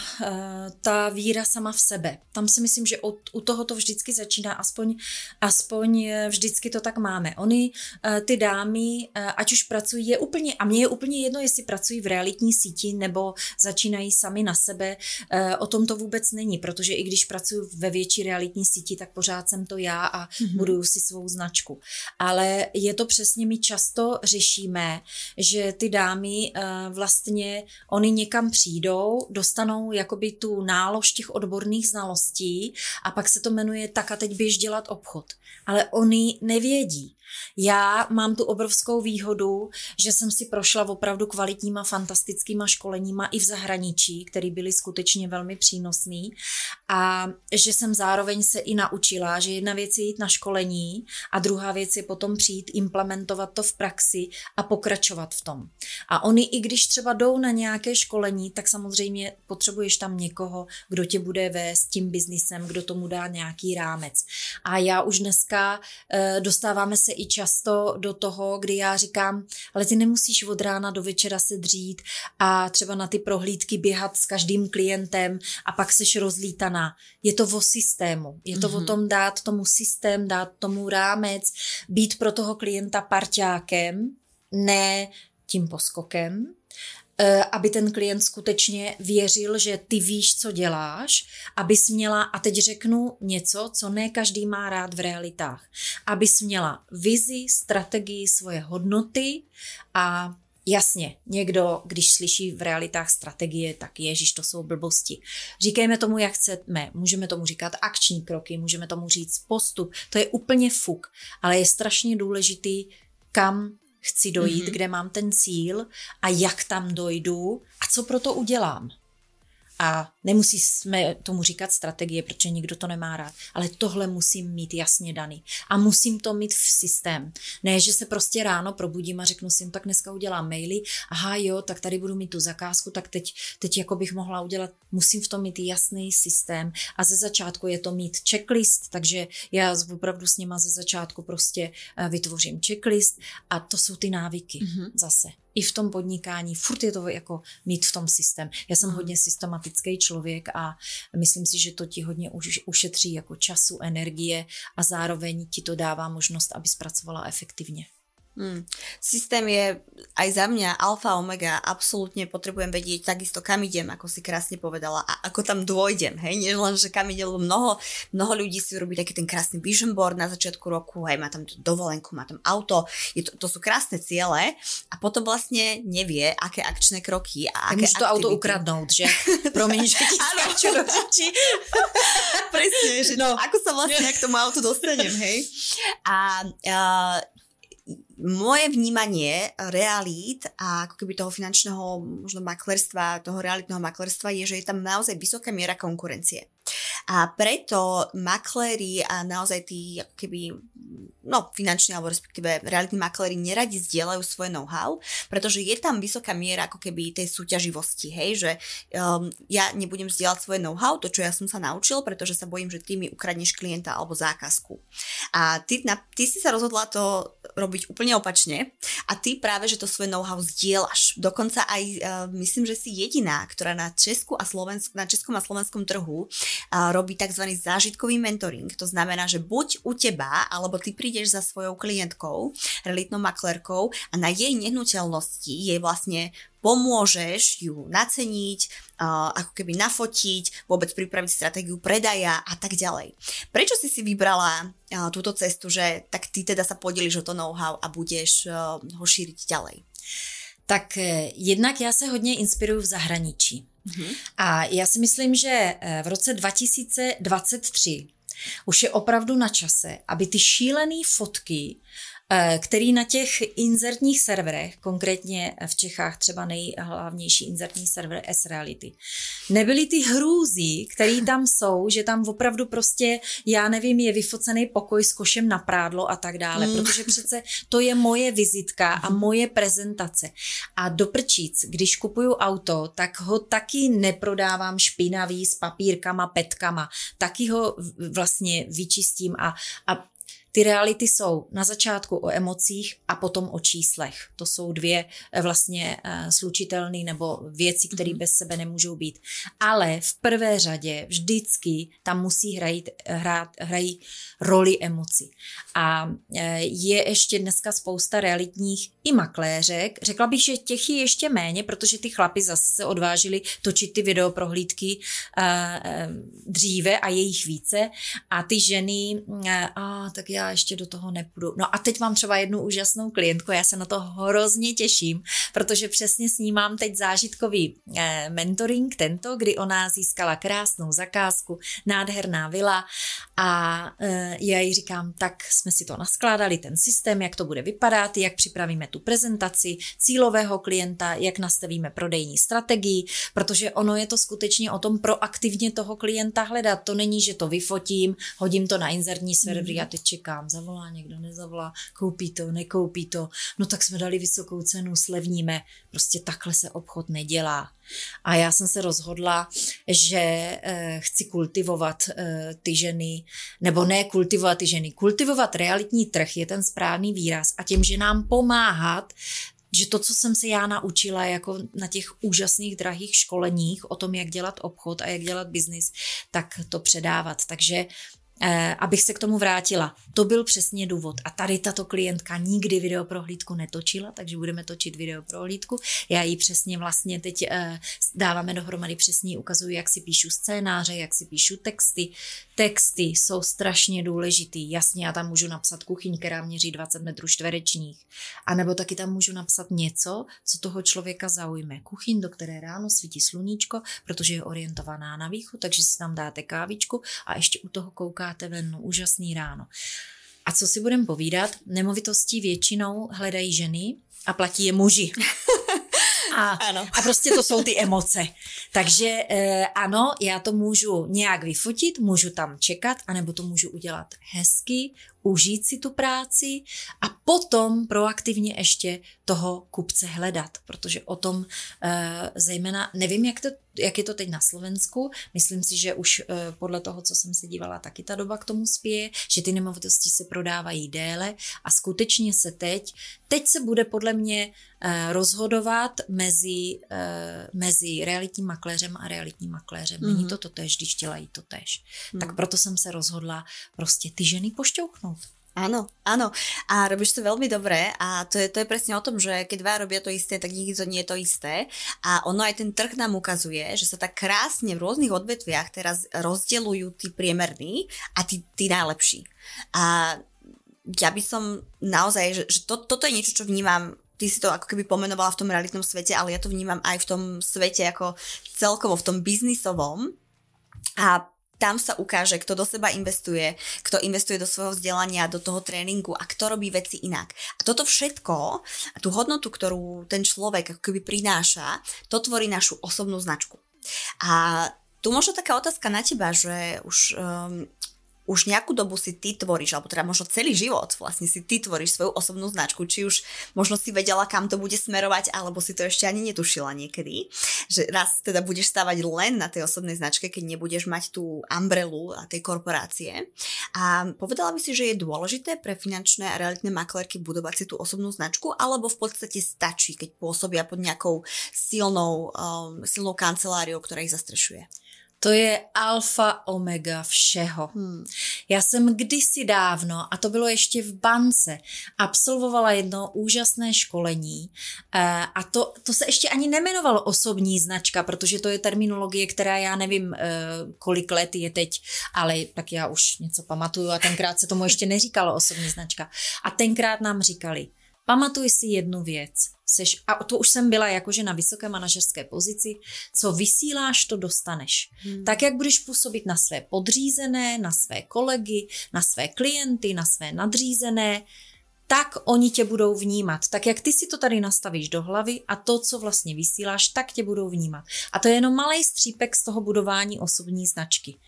ta víra sama v sebe. Tam si myslím, že od, u toho to vždycky začíná, aspoň, aspoň vždycky to tak máme. Oni, ty dámy, ať už pracují, je úplně, a mně je úplně jedno, jestli pracují v realitní síti nebo začínají sami na sebe, o tom to vůbec není, protože i když pracuji ve větší realitní síti, tak pořád jsem to já a mm-hmm. buduju si svou značku. Ale je to přesně, my často řešíme, že ty dámy vlastně oni někam přijdou, dostanou jakoby tu nálož těch odborných znalostí a pak se to jmenuje tak a teď běž dělat obchod. Ale oni nevědí. Já mám tu obrovskou výhodu, že jsem si prošla opravdu kvalitníma, fantastickýma školeníma i v zahraničí, které byly skutečně velmi přínosný a že jsem zároveň se i naučila, že jedna věc je jít na školení a druhá věc je potom přijít, implementovat to v praxi a pokračovat v tom. A oni i když třeba jdou na nějaké školení, tak samozřejmě potřebuješ tam někoho, kdo tě bude vést tím biznisem, kdo tomu dá nějaký rámec. A já už dneska e, dostáváme se i často do toho, kdy já říkám, ale ty nemusíš od rána do večera se dřít a třeba na ty prohlídky běhat s každým klientem a pak seš rozlítaná. Je to o systému. Je to mm-hmm. o tom dát tomu systém, dát tomu rámec, být pro toho klienta parťákem, ne tím poskokem, aby ten klient skutečně věřil, že ty víš, co děláš, abys měla, a teď řeknu něco, co ne každý má rád v realitách, abys měla vizi, strategii, svoje hodnoty a jasně, někdo, když slyší v realitách strategie, tak ježiš, to jsou blbosti. Říkejme tomu, jak chceme, můžeme tomu říkat akční kroky, můžeme tomu říct postup, to je úplně fuk, ale je strašně důležitý, kam chci dojít, mm-hmm. kde mám ten cíl a jak tam dojdu a co pro to udělám. A nemusíme tomu říkat strategie, protože nikdo to nemá rád, ale tohle musím mít jasně daný. A musím to mít v systém. Ne, že se prostě ráno probudím a řeknu si, no, tak dneska udělám maily, aha jo, tak tady budu mít tu zakázku, tak teď, teď jako bych mohla udělat, musím v tom mít jasný systém a ze začátku je to mít checklist, takže já opravdu s nima ze začátku prostě vytvořím checklist a to jsou ty návyky mm-hmm. zase. I v tom podnikání, furt je to jako mít v tom systém. Já jsem mm. hodně systematický člověk a myslím si, že to ti hodně už, ušetří jako času, energie a zároveň ti to dává možnost, aby zpracovala efektivně. Hmm. Systém je aj za mňa alfa omega, absolútne potrebujem vedieť takisto kam idem, ako si krásne povedala, a ako tam dôjdem, hej, nie len, že kam idem, mnoho, mnoho ľudí si robí taký ten krásny vision board na začiatku roku, hej, má tam dovolenku, má tam auto, je to, to sú krásne ciele a potom vlastne nevie, aké akčné kroky a aké aktivity. Môžu to auto ukradnúť, že? Promiň, že ti skáču do řeči. Presne, že no. Ako sa vlastne k tomu autu dostanem, hej? A... a moje vnímanie realít a ako keby toho finančného možno maklerstva, toho realitného maklerstva je, že je tam naozaj vysoká miera konkurencie. A preto makléri a naozaj tí ako keby, no finanční alebo respektíve realitní makléri neradi zdieľajú svoje know-how, pretože je tam vysoká miera ako keby tej súťaživosti, hej, že um, ja nebudem zdieľať svoje know-how, to čo ja som sa naučil, pretože sa bojím, že ty mi ukradneš klienta alebo zákazku. A ty, na, ty si sa rozhodla to robiť úplne opačne a ty práve, že to svoje know-how zdieľaš. Dokonca aj uh, myslím, že si jediná, ktorá na Česku a Slovensku, na českom a slovenskom trhu uh, robí tzv. Zážitkový mentoring. To znamená, že buď u teba, alebo ty prídeš za svojou klientkou, realitnou maklérkou a na jej nehnuteľnosti jej vlastne pomôžeš ju naceniť, uh, ako keby nafotiť, vôbec pripraviť stratégiu predaja a tak ďalej. Prečo si si vybrala uh, túto cestu, že tak ty teda sa podeliš o to know-how a budeš uh, ho šíriť ďalej? Tak jednak já se hodně inspiruju v zahraničí. Mm-hmm. A já si myslím, že v roce dva tisíce dvacet tři už je opravdu na čase, aby ty šílený fotky, který na těch inzertních serverech, konkrétně v Čechách třeba nejhlavnější inzertní server S-Reality, nebyly ty hrůzy, které tam jsou, že tam opravdu prostě, já nevím, je vyfocený pokoj s košem na prádlo a tak dále, mm. protože přece to je moje vizitka a moje prezentace. A do prčíc, když kupuju auto, tak ho taky neprodávám špinavý s papírkama, petkama, taky ho vlastně vyčistím a, a ty reality jsou na začátku o emocích a potom o číslech. To jsou dvě vlastně uh, slučitelné nebo věci, které mm-hmm. bez sebe nemůžou být. Ale v prvé řadě vždycky tam musí hrajit, hrát, hrají roli emoci. A uh, je ještě dneska spousta realitních i makléřek. Řekla bych, že těch je ještě méně, protože ty chlapi zase se odvážili točit ty videoprohlídky uh, uh, dříve a je jich více. A ty ženy, uh, a tak já ještě do toho nepůjdu. No a teď mám třeba jednu úžasnou klientku, já se na to hrozně těším, protože přesně s ní mám teď zážitkový eh, mentoring tento, kdy ona získala krásnou zakázku, nádherná vila a eh, já jí říkám, tak jsme si to naskládali, ten systém, jak to bude vypadat, jak připravíme tu prezentaci cílového klienta, jak nastavíme prodejní strategii, protože ono je to skutečně o tom proaktivně toho klienta hledat. To není, že to vyfotím, hodím to na inzertní servery mm. a teď čekám, zavolá někdo, nezavolá, koupí to, nekoupí to, no tak jsme dali vysokou cenu, slevníme, prostě takhle se obchod nedělá. A já jsem se rozhodla, že eh, chci kultivovat eh, ty ženy, nebo ne kultivovat ty ženy, kultivovat realitní trh je ten správný výraz a těm ženám pomáhat, že to, co jsem se já naučila jako na těch úžasných drahých školeních o tom, jak dělat obchod a jak dělat biznis, tak to předávat. Takže Eh, abych se k tomu vrátila. To byl přesně důvod. A tady tato klientka nikdy videoprohlídku netočila, takže budeme točit videoprohlídku. Já jí přesně vlastně teď eh, dáváme dohromady, přesně ukazuju, jak si píšu scénáře, jak si píšu texty. Texty jsou strašně důležitý. Jasně, já tam můžu napsat kuchyň, která měří dvacet metrů čtverečních. A nebo taky tam můžu napsat něco, co toho člověka zaujme. Kuchyň, do které ráno svítí sluníčko, protože je orientovaná na východ, takže si tam dáte kávičku a ještě u toho koukáte ven, no, úžasný ráno. A co si budem povídat, nemovitosti většinou hledají ženy a platí je muži. A, a prostě to jsou ty emoce. Takže eh, ano, já to můžu nějak vyfotit, můžu tam čekat, anebo to můžu udělat hezky, užít si tu práci a potom proaktivně ještě toho kupce hledat, protože o tom eh, zejména, nevím, jak, to, jak je to teď na Slovensku, myslím si, že už eh, podle toho, co jsem se dívala, taky ta doba k tomu spěje, že ty nemovitosti se prodávají déle a skutečně se teď, teď se bude podle mě eh, rozhodovat mezi, eh, mezi realitním makléřem a realitním makléřem. Mm-hmm. Není to totéž, když dělají totéž. Mm. Tak proto jsem se rozhodla prostě ty ženy pošťouchnout. Áno, áno. A robíš to veľmi dobre a to je, to je presne o tom, že keď dva robia to isté, tak nikdy to nie je to isté. A ono aj ten trh nám ukazuje, že sa tak krásne v rôznych odvetviach teraz rozdeľujú tí priemerní a tí, tí najlepší. A ja by som naozaj, že, že to, toto je niečo, čo vnímam. Ty si to ako keby pomenovala v tom realitnom svete, ale ja to vnímam aj v tom svete ako celkovo, v tom biznisovom. A tam sa ukáže, kto do seba investuje, kto investuje do svojho vzdelania, do toho tréningu a kto robí veci inak. A toto všetko, tú hodnotu, ktorú ten človek ako keby prináša, to tvorí našu osobnú značku. A tu možno taká otázka na teba, že už... Um, už nejakú dobu si ty tvoríš, alebo teda možno celý život vlastne si ty tvoríš svoju osobnú značku, či už možno si vedela, kam to bude smerovať, alebo si to ešte ani netušila niekedy, že raz teda budeš stávať len na tej osobnej značke, keď nebudeš mať tú umbrelu a tej korporácie. A povedala by si, že je dôležité pre finančné a realitné maklerky budovať si tú osobnú značku, alebo v podstate stačí, keď pôsobia pod nejakou silnou, um, silnou kanceláriou, ktorá ich zastrešuje? To je alfa omega všeho. Hmm. Já jsem kdysi dávno, a to bylo ještě v bance, absolvovala jedno úžasné školení a to, to se ještě ani nemenovalo osobní značka, protože to je terminologie, která já nevím, kolik let je teď, ale tak já už něco pamatuju a tenkrát se tomu ještě neříkalo osobní značka. A tenkrát nám říkali, pamatuj si jednu věc, seš, a to už jsem byla jakože na vysoké manažerské pozici, co vysíláš, to dostaneš. Hmm. Tak, jak budeš působit na své podřízené, na své kolegy, na své klienty, na své nadřízené, tak oni tě budou vnímat. Tak, jak ty si to tady nastavíš do hlavy a to, co vlastně vysíláš, tak tě budou vnímat. A to je jenom malej střípek z toho budování osobní značky.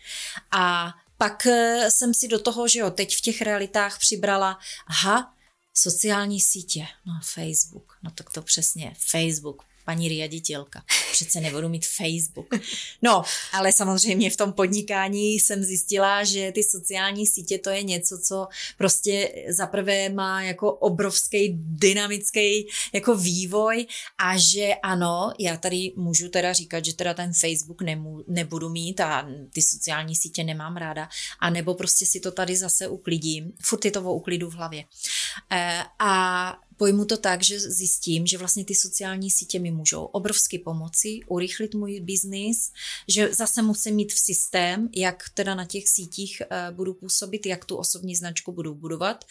A pak jsem si do toho, že jo, teď v těch realitách přibrala, aha, sociální sítě, no Facebook, no tak to přesně, Facebook, paní riaditelka, přece nebudu mít Facebook. No, ale samozřejmě v tom podnikání jsem zjistila, že ty sociální sítě to je něco, co prostě zaprvé má jako obrovský dynamický jako vývoj a že ano, já tady můžu teda říkat, že teda ten Facebook nemů, nebudu mít a ty sociální sítě nemám ráda, a nebo prostě si to tady zase uklidím, furt je to o uklidu v hlavě. E, a pojmu to tak, že zjistím, že vlastně ty sociální sítě mi můžou obrovsky pomoci, urychlit můj biznis, že zase musím mít v systém, jak teda na těch sítích uh, budu působit, jak tu osobní značku budu budovat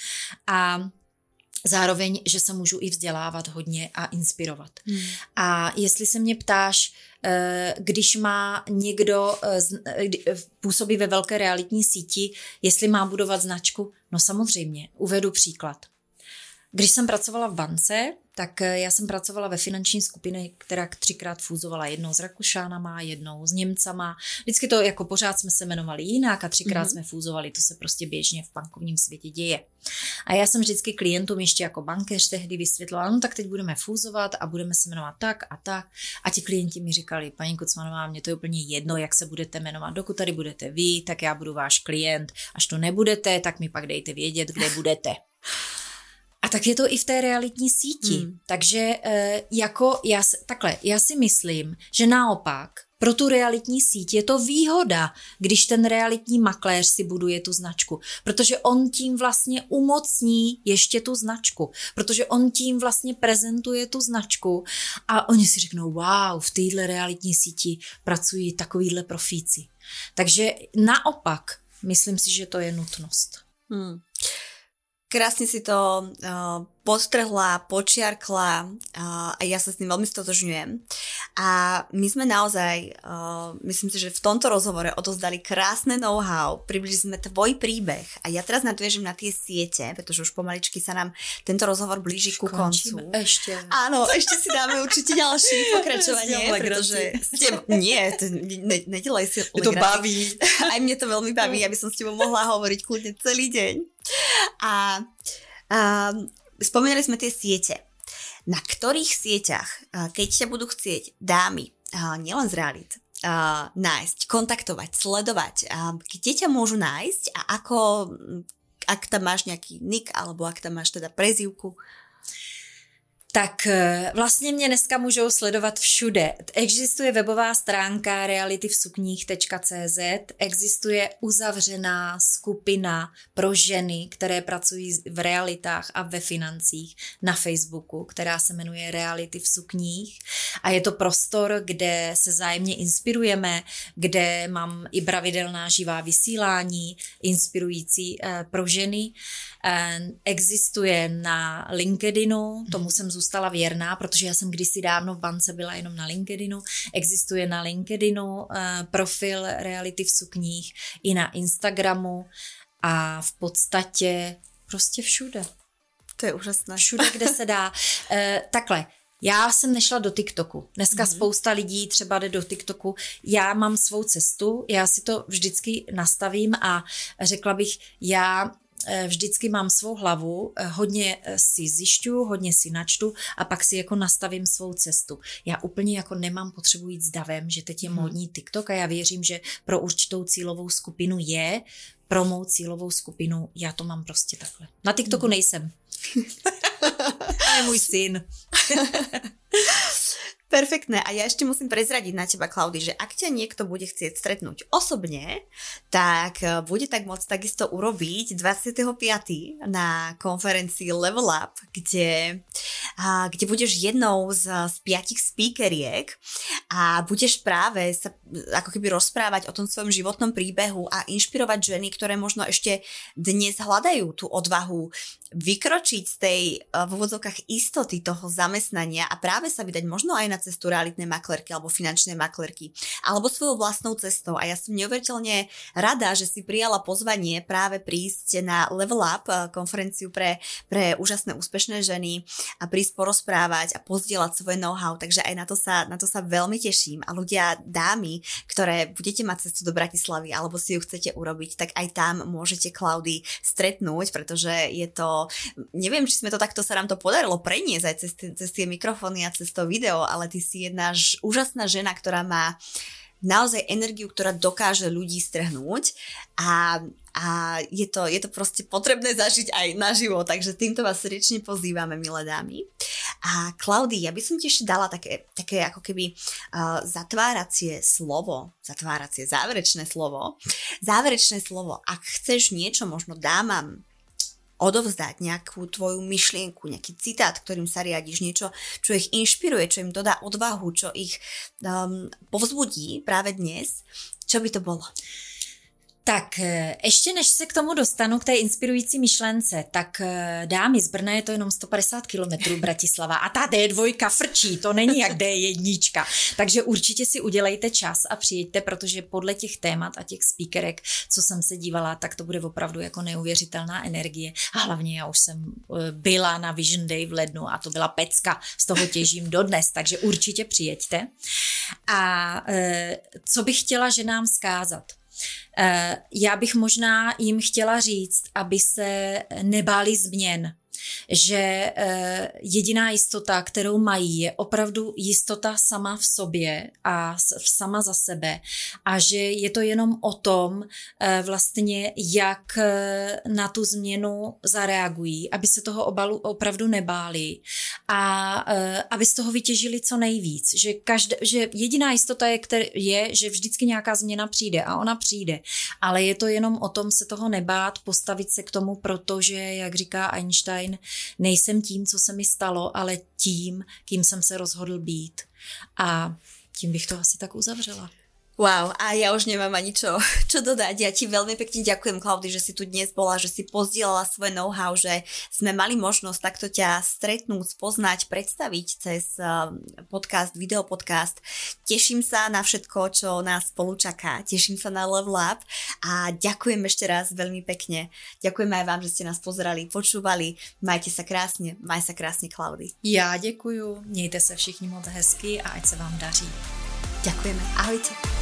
a zároveň, že se můžu i vzdělávat hodně a inspirovat. Hmm. A jestli se mě ptáš, uh, když má někdo uh, působí ve velké realitní síti, jestli má budovat značku, no samozřejmě, uvedu příklad. Když jsem pracovala v bance, tak já jsem pracovala ve finanční skupině, která třikrát fúzovala, jednou s Rakušanama, jednou s Němcama. Vždycky to jako pořád jsme se jmenovali jinak a třikrát mm-hmm. jsme fúzovali, to se prostě běžně v bankovním světě děje. A já jsem vždycky klientům ještě jako bankéř tehdy vysvětlila, no tak teď budeme fúzovat a budeme se jmenovat tak a tak. A ti klienti mi říkali, paní Kocmanová, mně to je úplně jedno, jak se budete jmenovat. Dokud tady budete vy, tak já budu váš klient. Až to nebudete, tak mi pak dejte vědět, kde budete. A tak je to i v té realitní síti. Hmm. Takže e, jako já, takhle, já si myslím, že naopak pro tu realitní síť je to výhoda, když ten realitní makléř si buduje tu značku, protože on tím vlastně umocní ještě tu značku, protože on tím vlastně prezentuje tu značku a oni si řeknou, wow, v téhle realitní síti pracují takovýhle profíci. Takže naopak, myslím si, že to je nutnost. Hmm. Krásne si to uh, podtrhla, počiarkla uh, a ja sa s tým veľmi stotožňujem. A my sme naozaj, uh, myslím si, že v tomto rozhovore odozdali krásne know-how, približili sme tvoj príbeh a ja teraz nadviežem na tie siete, pretože už pomaličky sa nám tento rozhovor blíži ku koncu. Ešte. Áno, ešte si dáme určite ďalší pokračovanie, pretože ste, nie, to, ne, nedelaj si legraci. To baví. Aj mne to veľmi baví, aby som s tebou mohla hovoriť kľudne celý deň. A, a spomínali sme tie siete. Na ktorých sieťach, keď ťa budú chcieť dámy, nielen z realit, nájsť, kontaktovať, sledovať, kde ťa môžu nájsť a ako, ak tam máš nejaký nick, alebo ak tam máš teda prezývku? Tak vlastně mě dneska můžou sledovat všude. Existuje webová stránka reality v sukních tečka cé zet, existuje uzavřená skupina pro ženy, které pracují v realitách a ve financích na Facebooku, která se jmenuje Reality v sukních a je to prostor, kde se vzájemně inspirujeme, kde mám i pravidelná živá vysílání, inspirující eh, pro ženy. Eh, existuje na LinkedInu, tomu jsem zůstala věrná, protože já jsem kdysi dávno v bance byla jenom na LinkedInu. Existuje na LinkedInu uh, profil Reality v sukních i na Instagramu a v podstatě prostě všude. To je úžasné. Všude, kde se dá. Uh, takhle, já jsem nešla do TikToku. Dneska mm-hmm. spousta lidí třeba jde do TikToku. Já mám svou cestu, já si to vždycky nastavím a řekla bych, já vždycky mám svou hlavu, hodně si zjišťuju, hodně si načtu a pak si jako nastavím svou cestu. Já úplně jako nemám potřebu jít s davem, že teď je módní TikTok a já věřím, že pro určitou cílovou skupinu je, pro mou cílovou skupinu já to mám prostě takhle. Na TikToku nejsem. Je můj syn. Perfektné. A ja ešte musím prezradiť na teba, Klaudy, že ak ťa niekto bude chcieť stretnúť osobne, tak bude tak môcť takisto urobiť dvadsiateho piateho na konferencii Level Up, kde, a, kde budeš jednou z, z piatich speakeriek a budeš práve sa ako keby rozprávať o tom svojom životnom príbehu a inšpirovať ženy, ktoré možno ešte dnes hľadajú tú odvahu vykročiť z tej v úvodzovkách istoty toho zamestnania a práve sa vydať možno aj na cestu realitnej maklerky alebo finančnej maklerky alebo svojou vlastnou cestou. A ja som neuveriteľne rada, že si prijala pozvanie práve prísť na Level Up konferenciu pre, pre úžasné úspešné ženy a prísť porozprávať a pozdieľať svoje know-how. Takže aj na to sa, na to sa veľmi teším. A ľudia, dámy, ktoré budete mať cestu do Bratislavy alebo si ju chcete urobiť, tak aj tam môžete Klaudy stretnúť, pretože je to neviem, či sme to takto sa nám to podarilo preniesť aj cez, cez tie mikrofóny a cez to video, ale ty si jedna ž, úžasná žena, ktorá má naozaj energiu, ktorá dokáže ľudí strhnúť a, a je, to, je to proste potrebné zažiť aj naživo, takže týmto vás srdečne pozývame, milé dámy. A Klaudy, ja by som ti ešte dala také, také ako keby uh, zatváracie slovo, zatváracie, záverečné slovo, záverečné slovo, ak chceš niečo možno dámam odovzdať nejakú tvoju myšlienku, nejaký citát, ktorým sa riadiš, niečo, čo ich inšpiruje, čo im dodá odvahu, čo ich um, povzbudí práve dnes, čo by to bolo? Tak ještě než se k tomu dostanu, k té inspirující myšlence, tak dámy, z Brna je to jenom sto padesát kilometrů Bratislava a ta dé dva frčí, to není jak dé jedna. Takže určitě si udělejte čas a přijeďte, protože podle těch témat a těch speakerek, co jsem se dívala, tak to bude opravdu jako neuvěřitelná energie. A hlavně já už jsem byla na Vision Day v lednu a to byla pecka, z toho těžím dodnes, takže určitě přijeďte. A co bych chtěla ženám vzkázat? Já bych možná jim chtěla říct, aby se nebáli změn, že jediná jistota, kterou mají, je opravdu jistota sama v sobě a sama za sebe a že je to jenom o tom vlastně, jak na tu změnu zareagují, aby se toho obalu opravdu nebáli a aby z toho vytěžili co nejvíc, že, každé, že jediná jistota je, který, je, že vždycky nějaká změna přijde a ona přijde, ale je to jenom o tom se toho nebát, postavit se k tomu, protože, jak říká Einstein, nejsem tím, co se mi stalo, ale tím, kým jsem se rozhodl být. A tím bych to asi tak uzavřela. Wow, a ja už nemám ani čo, čo dodať. Ja ti veľmi pekne ďakujem, Klaudy, že si tu dnes bola, že si pozdielala svoje know-how, že sme mali možnosť takto ťa stretnúť, spoznať, predstaviť cez podcast, videopodcast. Teším sa na všetko, čo nás spolu čaká. Teším sa na Level Up a ďakujem ešte raz veľmi pekne. Ďakujem aj vám, že ste nás pozerali, počúvali. Majte sa krásne, maj sa krásne, Klaudy. Já děkuju, mějte se všichni moc hezky a ať se vám daří. Ďakujeme, ahojte.